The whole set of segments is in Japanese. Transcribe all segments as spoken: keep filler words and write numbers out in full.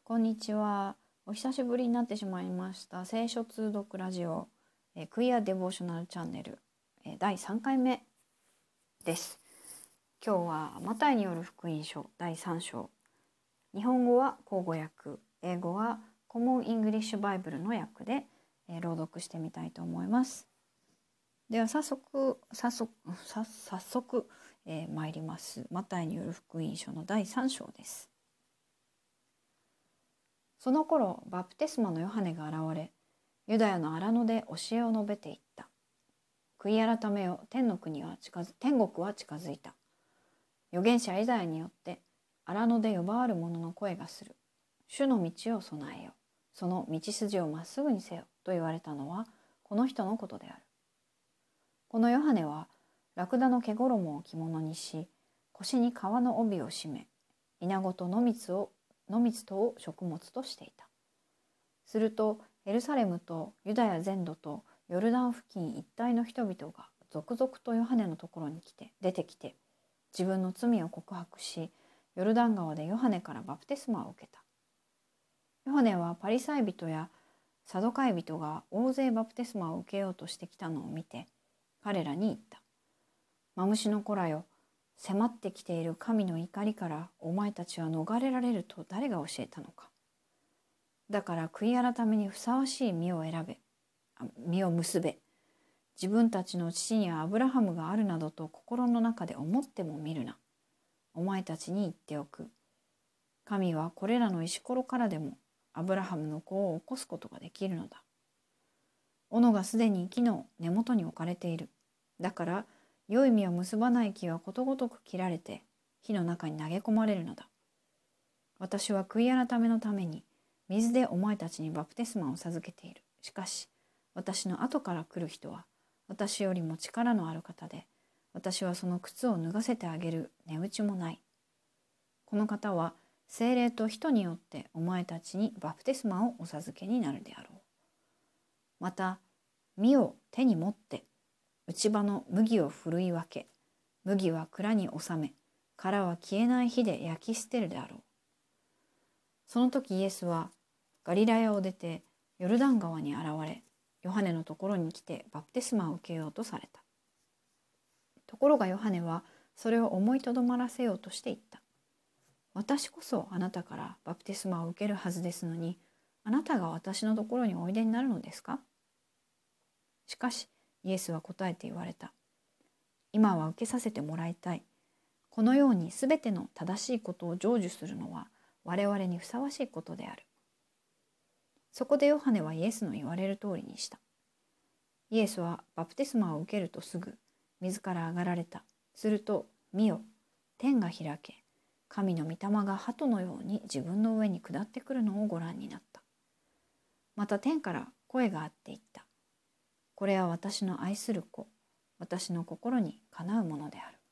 こんにちは。お久しぶりになってしまいました聖書通読ラジオ、えー、クイアデボーショナルチャンネル、えー、だいさんかいめです。今日はマタイによる福音書だいさん章、日本語は口語訳、英語はコモンイングリッシュバイブルの訳で、えー、朗読してみたいと思います。では早速早速早速、えー、参ります。マタイによる福音書のだいさん章です。その頃バプテスマのヨハネが現れ、ユダヤの荒野で教えを述べていった。悔い改めよ、天の国は近づ天国は近づいた。預言者イザヤによって荒野で呼ばわる者の声がする。主の道を備えよ、その道筋をまっすぐにせよと言われたのはこの人のことである。このヨハネはラクダの毛衣を着物にし、腰に革の帯を締め、稲子と野蜜を野蜜とを食物としていた。するとエルサレムとユダヤ全土とヨルダン付近一帯の人々が続々とヨハネのところに来て出てきて、自分の罪を告白し、ヨルダン川でヨハネからバプテスマを受けた。ヨハネはパリサイ人やサドカイ人が大勢バプテスマを受けようとしてきたのを見て、彼らに言った。マムシの子らよ、迫ってきている神の怒りからお前たちは逃れられると誰が教えたのか。だから悔い改めにふさわしい実を選べ、実を結べ。自分たちの父にはアブラハムがあるなどと心の中で思ってもみるな。お前たちに言っておく。神はこれらの石ころからでもアブラハムの子を起こすことができるのだ。斧がすでに木の根元に置かれている。だから良い実を結ばない木はことごとく切られて火の中に投げ込まれるのだ。私は悔い改めのために水でお前たちにバプテスマを授けている。しかし私の後から来る人は私よりも力のある方で、私はその靴を脱がせてあげる値打ちもない。この方は聖霊と人によってお前たちにバプテスマをお授けになるであろう。また実を手に持って内場の麦をふるい分け、麦は蔵に収め、殻は消えない火で焼き捨てるであろう。その時イエスはガリラヤを出てヨルダン川に現れ、ヨハネのところに来てバプテスマを受けようとされた。ところがヨハネはそれを思いとどまらせようとして言った。私こそあなたからバプテスマを受けるはずですのに、あなたが私のところにおいでになるのですか？しかしイエスは答えて言われた。今は受けさせてもらいたい。このようにすべての正しいことを成就するのは我々にふさわしいことである。そこでヨハネはイエスの言われる通りにした。イエスはバプテスマを受けるとすぐ水から上がられた。すると見よ、天が開け、神の御霊が鳩のように自分の上に下ってくるのをご覧になった。また天から声があって言った。これは私の愛する子、私の心にかなうものである。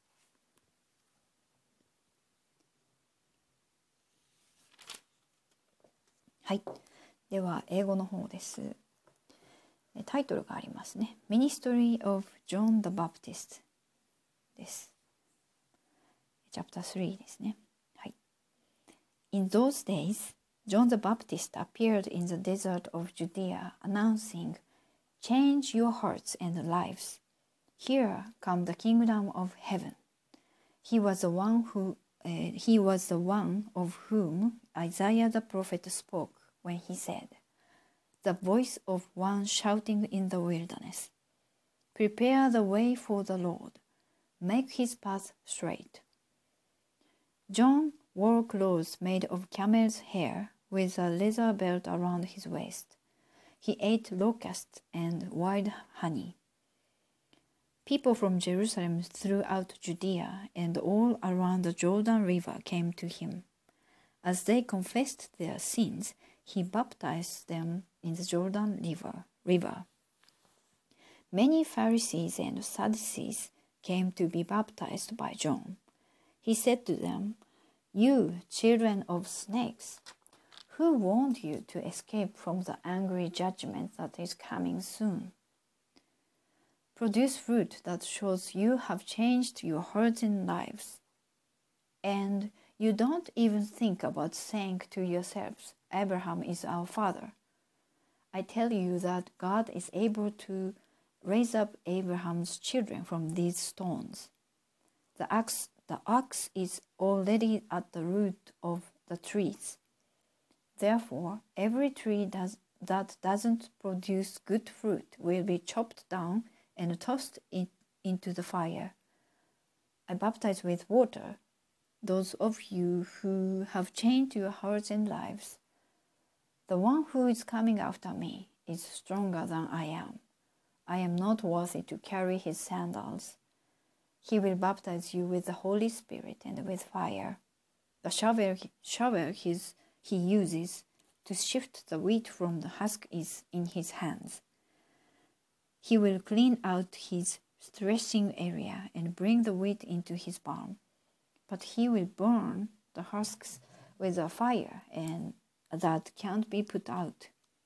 はい、では英語の方です。タイトルがありますね。Ministry of John the Baptist です。チャプタースリーですね。はい。In those days, John the Baptist appeared in the desert of Judea, announcing, Change your hearts and lives. Here come the kingdom of heaven. He was the one who, uh, he was the one of whom Isaiah the prophet spoke when he said, The voice of one shouting in the wilderness, Prepare the way for the Lord, make his path straight. John wore clothes made of camel's hair with a leather belt around his waist. He ate locusts and wild honey. People from Jerusalem throughout Judea and all around the Jordan River came to him. As they confessed their sins, he baptized them in the Jordan River. river. Many Pharisees and Sadducees came to be baptized by John. He said to them, You children of snakes, who warned you to escape from the angry judgment that is coming soon? Produce fruit that shows you have changed your hearts and lives, and You don't even think about saying to yourselves, Abraham is our father. I tell you that God is able to raise up Abraham's children from these stones. The axe, the axe is already at the root of the trees. Therefore, every tree does, that doesn't produce good fruit will be chopped down and tossed in, into the fire. I baptize with water those of you who have changed your hearts and lives. The one who is coming after me is stronger than I am. I am not worthy to carry his sandals. He will baptize you with the Holy Spirit and with fire. The shovel, shovel his, he uses to shift the wheat from the husk is in his hands. He will clean out his threshing area and bring the wheat into his barn. But he will burn the husks with a fire and that can't be put out.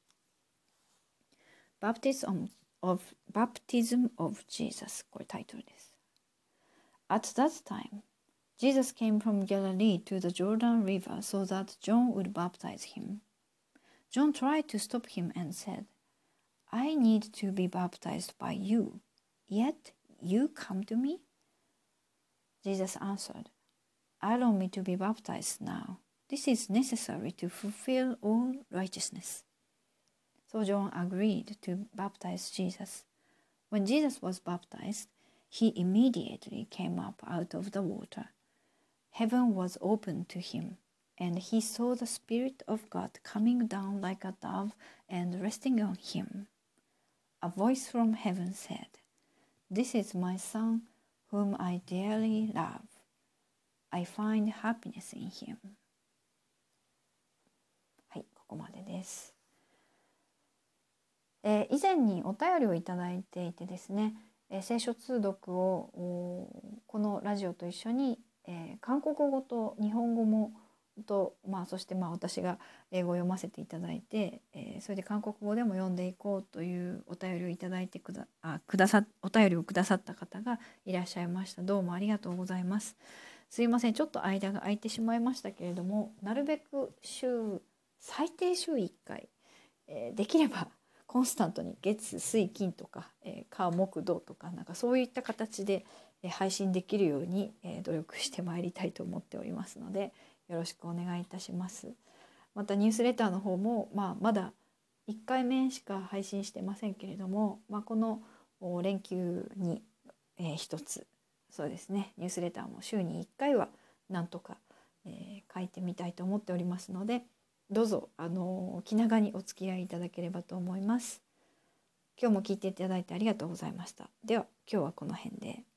Baptism of, Baptism of Jesus これタイトルです。At that time, Jesus came from Galilee to the Jordan River so that John would baptize him. John tried to stop him and said, I need to be baptized by you, yet you come to me? Jesus answered, Allow me to be baptized now. This is necessary to fulfill all righteousness. So John agreed to baptize Jesus. When Jesus was baptized, he immediately came up out of the water. Heaven was opened to him, and he saw the Spirit of God coming down like a dove and resting on him. A voice from heaven said, This is my Son, whom I dearly love. I find happiness in him. はい、ここまでです。えー、以前にお便りをいただいていてですね、えー、聖書通読をこのラジオと一緒に、えー、韓国語と日本語もと、まあ、そしてまあ私が英語を読ませていただいて、えー、それで韓国語でも読んでいこうというお便りをいただいてくだ、あ、くださ、お便りをくださった方がいらっしゃいました。どうもありがとうございます。すいません、ちょっと間が空いてしまいましたけれども、なるべく週最低週いっかい、えー、できればコンスタントに月水金とか、えー、火木土とかなんかそういった形で、えー、配信できるように、えー、努力してまいりたいと思っておりますので、よろしくお願いいたします。またニュースレターの方も、まあ、まだいっかいめしか配信してませんけれども、まあ、この連休に、えー、一つそうですね、ニュースレターも週にいっかいはなんとか、えー、書いてみたいと思っておりますので、どうぞあの気長にお付き合いいただければと思います。今日も聞いていただいてありがとうございました。では今日はこの辺で。